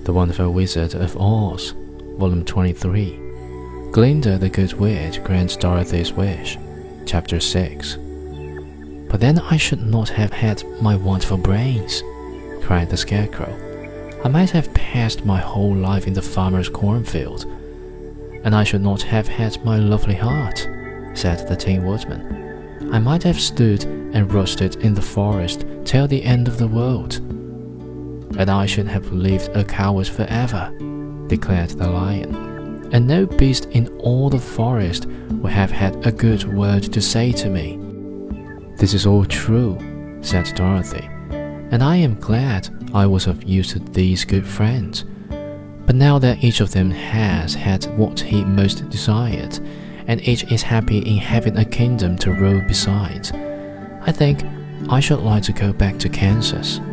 The Wonderful Wizard of Oz, Volume 23. Glinda the Good Witch grants Dorothy's wish, Chapter 6. "But then I should not have had my wonderful brains," cried the Scarecrow. "I might have passed my whole life in the farmer's cornfield." "And I should not have had my lovely heart," said the Tin Woodman. "I might have stood and roasted in the forest till the end of the world." "And I should have lived a coward forever," declared the Lion. "And no beast in all the forest would have had a good word to say to me." "This is all true," said Dorothy, "and I am glad I was of use to these good friends. But now that each of them has had what he most desired, and each is happy in having a kingdom to rule besides, I think I should like to go back to Kansas."